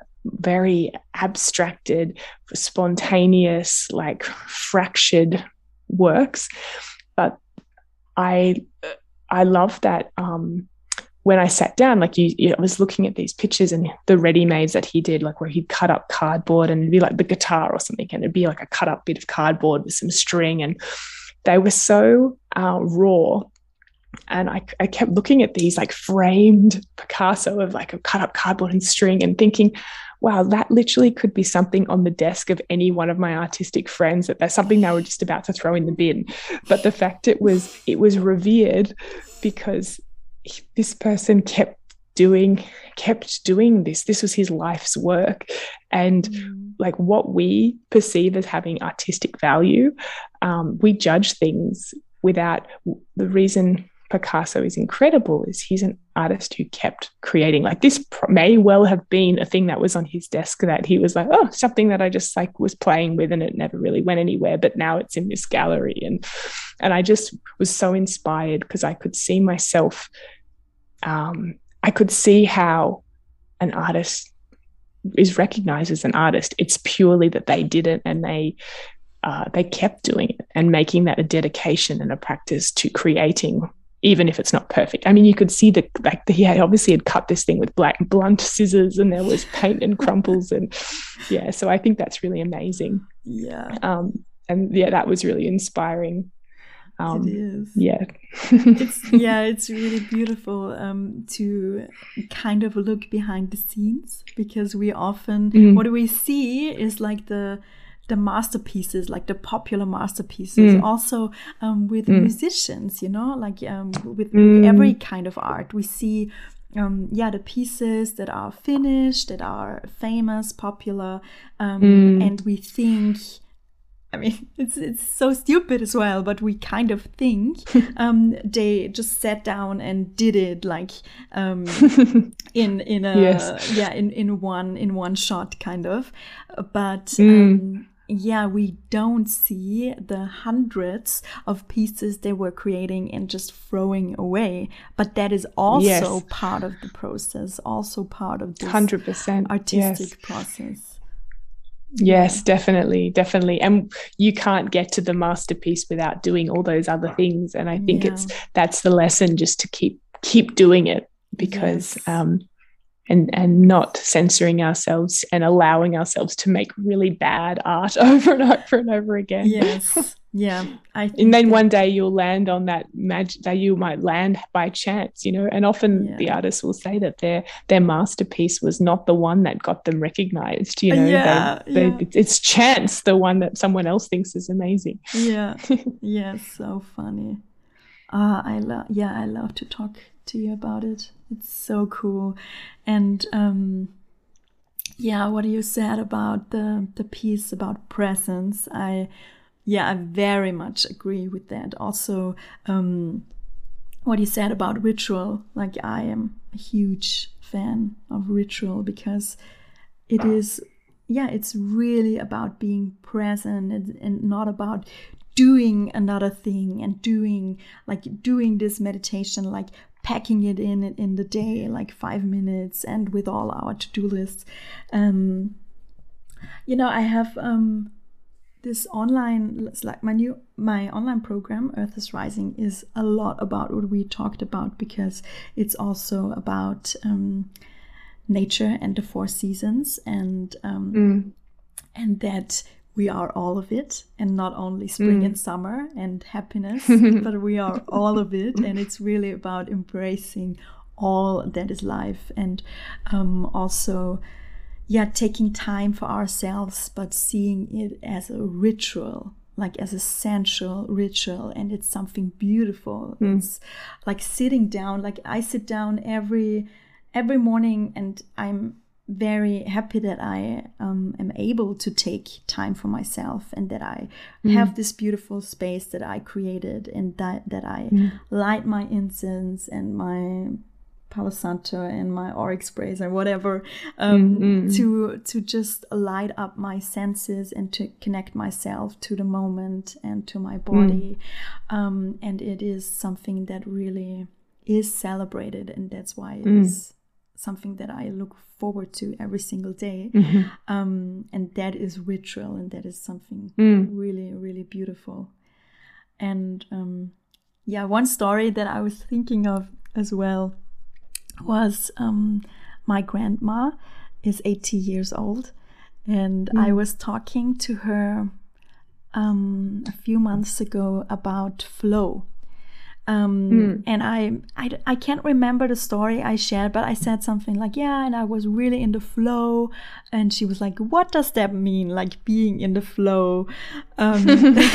very abstracted, spontaneous, like fractured works. But I I love that um, when I sat down, like you, you, I was looking at these pictures and the ready-mades that he did, like where he'd cut up cardboard, and it'd be like the guitar or something, and it'd be like a cut up bit of cardboard with some string, and they were so uh, raw. And I, I kept looking at these like framed Picasso of like a cut up cardboard and string, and thinking, wow, that literally could be something on the desk of any one of my artistic friends, that there's something they were just about to throw in the bin. But the fact it was, it was revered because this person kept doing, kept doing this. This was his life's work. And mm. like what we perceive as having artistic value, um, we judge things without the reason. Picasso is incredible is he's an artist who kept creating. Like this may well have been a thing that was on his desk that he was like, oh, something that I just like was playing with and it never really went anywhere, but now it's in this gallery. And and I just was so inspired because I could see myself, um, I could see how an artist is recognized as an artist. It's purely that they did it and they uh, they kept doing it and making that a dedication and a practice to creating, even if it's not perfect. I mean, you could see the like the, he had obviously had cut this thing with black blunt scissors, and there was paint and crumples, and yeah. So I think that's really amazing. Yeah. Um. And yeah, that was really inspiring. Um, it is. Yeah. it's yeah. It's really beautiful um, to kind of look behind the scenes, because we often mm. what we see is like the. the masterpieces, like the popular masterpieces, mm. also um, with mm. musicians, you know, like um, with, mm. with every kind of art. We see, um, yeah, the pieces that are finished, that are famous, popular, um, mm. and we think, I mean, it's it's so stupid as well, but we kind of think um, they just sat down and did it like um, in in a yes. yeah in, in one in one shot kind of, but. Mm. Um, yeah, we don't see the hundreds of pieces they were creating and just throwing away. But that is also yes. part of the process, also part of this one hundred percent artistic yes. process. Yes, yeah. definitely, definitely. And you can't get to the masterpiece without doing all those other things. And I think yeah. it's that's the lesson, just to keep keep doing it, because yes. um and and not censoring ourselves and allowing ourselves to make really bad art over and over and over again. Yes. Yeah. I think and then that... one day you'll land on that magic that you might land by chance, you know. And often yeah. the artists will say that their their masterpiece was not the one that got them recognized, you know. Yeah, they, they, yeah. It's chance, the one that someone else thinks is amazing. Yeah. Yeah, so funny. Uh, I love yeah, I love to talk to you about it. It's so cool. And um yeah, what you said about the the piece about presence, I yeah, I very much agree with that. Also, um what you said about ritual, like I am a huge fan of ritual, because it is yeah, it's really about being present and, and not about doing another thing and doing like doing this meditation, like packing it in in the day, like five minutes and with all our to-do lists. Um, you know, I have um, this online, it's like my new my online program, Earth is Rising, is a lot about what we talked about, because it's also about um, nature and the four seasons, and um, mm. and that we are all of it, and not only spring mm. and summer and happiness, but we are all of it. And it's really about embracing all that is life, and um, also, yeah, taking time for ourselves, but seeing it as a ritual, like as a sensual ritual, and it's something beautiful. Mm. It's like sitting down, like I sit down every every morning, and I'm very happy that I um, am able to take time for myself, and that I mm. have this beautiful space that I created, and that, that I mm. light my incense and my Palo Santo and my auric sprays or whatever, um, mm-hmm. to to just light up my senses and to connect myself to the moment and to my body. Mm. Um, and it is something that really is celebrated, and that's why it mm. is something that I look forward to every single day. Mm-hmm. Um, and that is ritual, and that is something mm. really, really beautiful. And um, yeah, one story that I was thinking of as well was um, my grandma is eighty years old, and mm. I was talking to her um, a few months ago about flow. Um, mm. And I, I, I can't remember the story I shared, but I said something like, yeah, and I was really in the flow. And she was like, what does that mean? Like being in the flow. Um,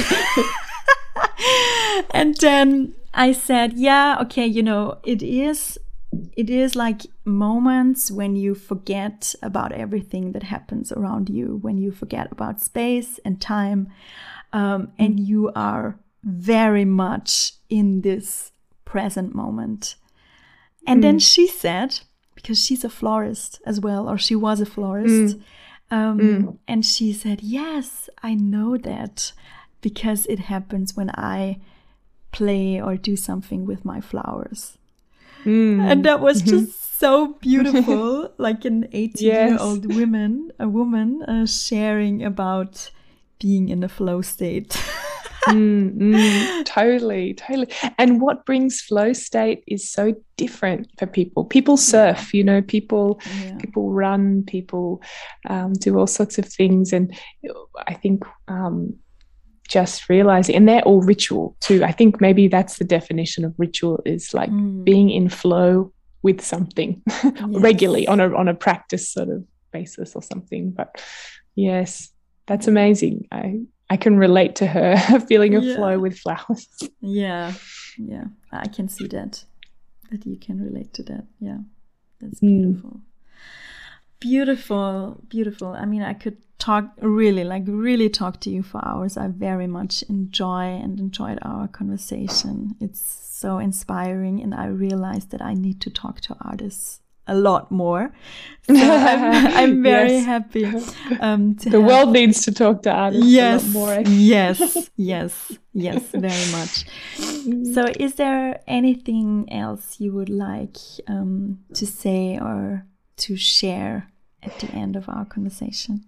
and then I said, yeah, okay, you know, it is, it is like moments when you forget about everything that happens around you, when you forget about space and time, um, mm. and you are very much in this present moment. And mm. then she said, because she's a florist as well, or she was a florist, mm. Um, mm. and she said, yes, I know that, because it happens when I play or do something with my flowers. Mm. And that was mm-hmm. just so beautiful, like an eighty-year-old yes. woman, a woman uh, sharing about being in a flow state. mm, mm, totally, totally. And what brings flow state is so different for people. People surf, yeah. you know, people, yeah. people run, people um, do all sorts of things. And I think um, just realizing, and they're all ritual too. I think maybe that's the definition of ritual, is like mm. being in flow with something yes. regularly on a on a practice sort of basis or something. But yes, that's amazing. I I can relate to her feeling of yeah. flow with flowers. Yeah, yeah, I can see that, that you can relate to that. Yeah, that's beautiful. Mm. Beautiful, beautiful. I mean, I could talk really, like really talk to you for hours. I very much enjoy and enjoyed our conversation. It's so inspiring, and I realized that I need to talk to artists a lot more. So I'm, I'm very yes. happy. Um, to the have... world needs to talk to artists yes, a lot more. yes, yes, yes, very much. So is there anything else you would like um, to say or to share at the end of our conversation?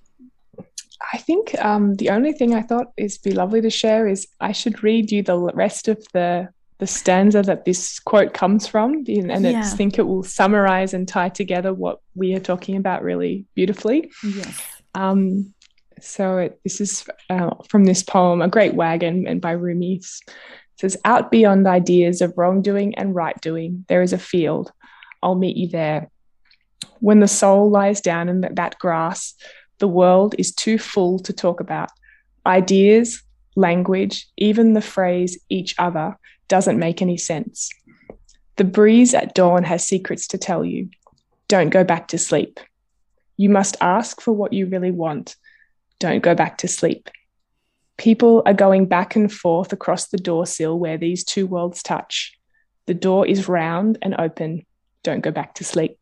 I think um, the only thing I thought is be lovely to share is I should read you the rest of the the stanza that this quote comes from, and yeah. I think it will summarize and tie together what we are talking about really beautifully. Yes. Um, so it, this is uh, from this poem, A Great Wagon, and by Rumi. It says, out beyond ideas of wrongdoing and right doing, there is a field. I'll meet you there. When the soul lies down in that, that grass, the world is too full to talk about. Ideas, language, even the phrase each other doesn't make any sense. The breeze at dawn has secrets to tell you. Don't go back to sleep. You must ask for what you really want. Don't go back to sleep. People are going back and forth across the door sill where these two worlds touch. The door is round and open. Don't go back to sleep.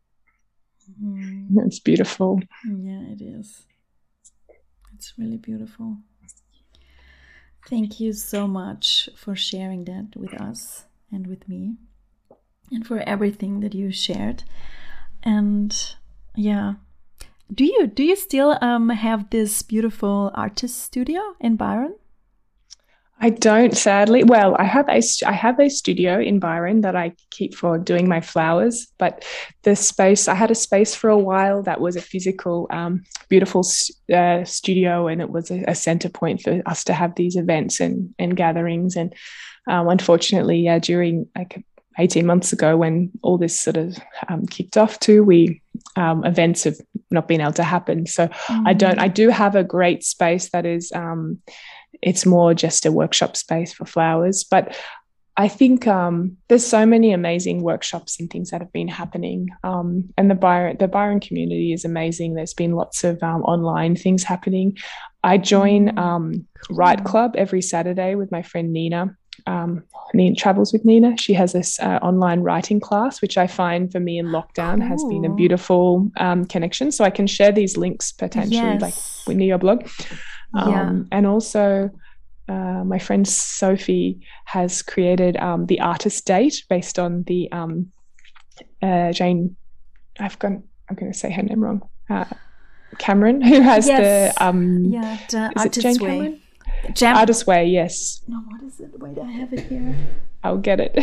Mm. It's beautiful. Yeah, it is. It's really beautiful. Thank you so much for sharing that with us and with me, and for everything that you shared. And yeah, do you do you still um have this beautiful artist studio in Byron? I don't, sadly. Well, I have a I have a studio in Byron that I keep for doing my flowers. But the space I had a space for a while that was a physical, um, beautiful uh, studio, and it was a, a center point for us to have these events and and gatherings. And um, unfortunately, yeah, during like eighteen months ago, when all this sort of um, kicked off, too, we um, events have not been able to happen. So mm. I don't. I do have a great space that is. Um, It's more just a workshop space for flowers. But I think um, there's so many amazing workshops and things that have been happening. Um, and the Byron, the Byron community is amazing. There's been lots of um, online things happening. I join um, Write Club every Saturday with my friend Nina. Um, Nina travels with Nina. She has this uh, online writing class, which I find for me in lockdown cool. has been a beautiful um, connection. So I can share these links potentially, yes. like near your blog. Yeah. Um, and also uh, my friend Sophie has created um, the Artist Date based on the um, uh, Jane, I've gone, I'm going to say her name wrong, uh, Cameron, who has yes. the, um, yeah, the is it Jane Way. Cameron? Jam- Artist Way, yes. No, what is it? Wait, I have it here. I'll get it.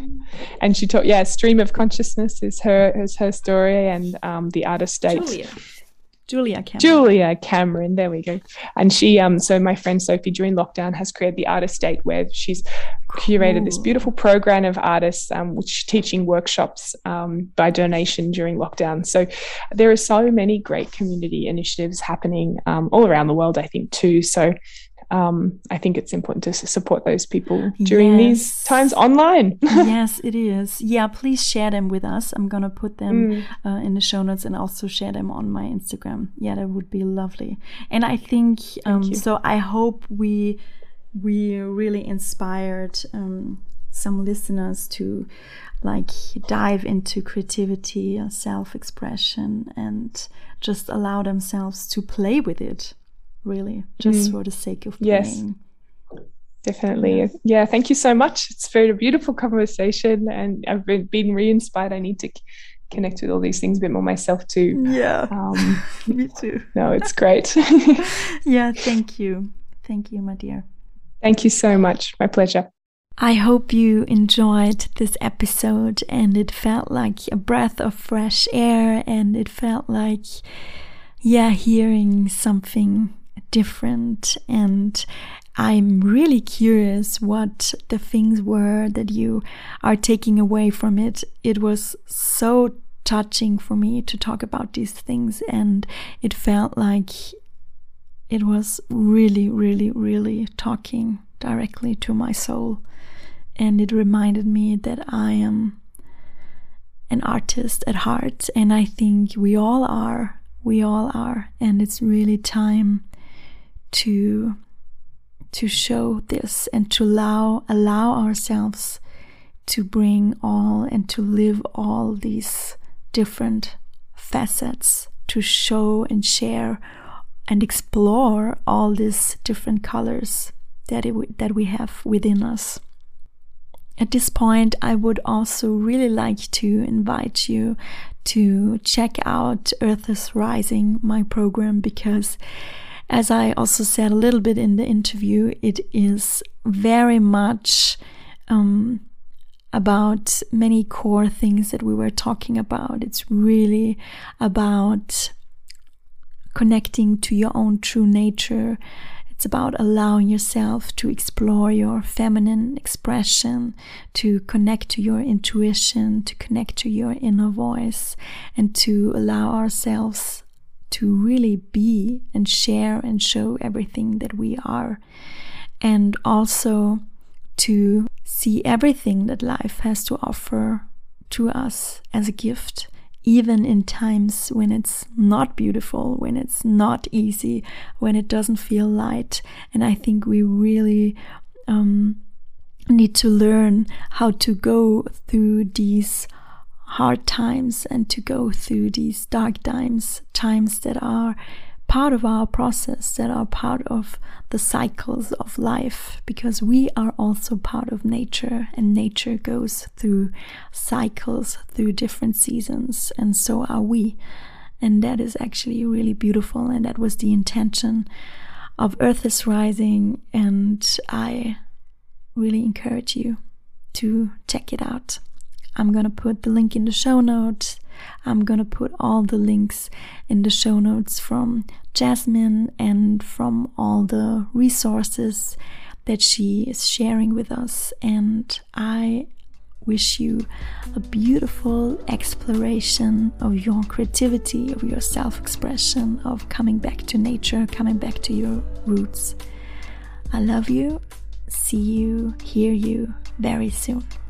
And she taught, yeah, Stream of Consciousness is her is her story, and um, the Artist Date. Julia. Julia Cameron. Julia Cameron, there we go. And she, um, so my friend Sophie during lockdown has created the Artist Date, where she's curated cool. this beautiful program of artists, um, which teaching workshops um, by donation during lockdown. So there are so many great community initiatives happening um, all around the world, I think, too. So um, I think it's important to support those people during yes. these times online. Yes, it is. Yeah, please share them with us. I'm going to put them mm. uh, in the show notes and also share them on my Instagram. Yeah, that would be lovely. And I think, um, so I hope we we really inspired um, some listeners to like dive into creativity, self-expression, and just allow themselves to play with it. Really, just mm. for the sake of playing. Yes, definitely. Yeah. yeah, thank you so much. It's been a beautiful conversation, and I've been, been re-inspired. I need to c- connect with all these things a bit more myself too. Yeah, um, me too. No, it's great. Yeah, thank you. Thank you, my dear. Thank you so much. My pleasure. I hope you enjoyed this episode, and it felt like a breath of fresh air, and it felt like, yeah, hearing something different. And I'm really curious what the things were that you are taking away from it. It was so touching for me to talk about these things, and it felt like it was really, really, really talking directly to my soul. And it reminded me that I am an artist at heart, and I think we all are. We all are, and it's really time to to show this and to allow allow ourselves to bring all and to live all these different facets, to show and share and explore all these different colors that it, that we have within us. At this point, I would also really like to invite you to check out Earth is Rising, my program, because as I also said a little bit in the interview, it is very much um, about many core things that we were talking about. It's really about connecting to your own true nature. It's about allowing yourself to explore your feminine expression, to connect to your intuition, to connect to your inner voice, and to allow ourselves to really be and share and show everything that we are. And also to see everything that life has to offer to us as a gift, even in times when it's not beautiful, when it's not easy, when it doesn't feel light. And I think we really um, need to learn how to go through these hard times and to go through these dark times, times that are part of our process, that are part of the cycles of life, because we are also part of nature, and nature goes through cycles, through different seasons, and so are we. And that is actually really beautiful, and that was the intention of Earth is Rising, and I really encourage you to check it out. I'm gonna put the link in the show notes. I'm gonna put all the links in the show notes from Jasmine and from all the resources that she is sharing with us. And I wish you a beautiful exploration of your creativity, of your self-expression, of coming back to nature, coming back to your roots. I love you. See you, hear you very soon.